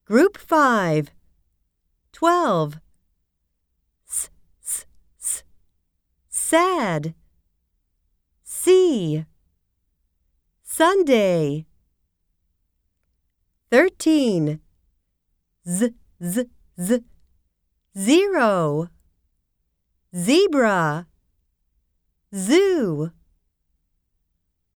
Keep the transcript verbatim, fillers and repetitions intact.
Group five. Twelve. S, s, s. Sad. C. Sunday. Thirteen. Z, z, z. Zero. Zebra. Zoo.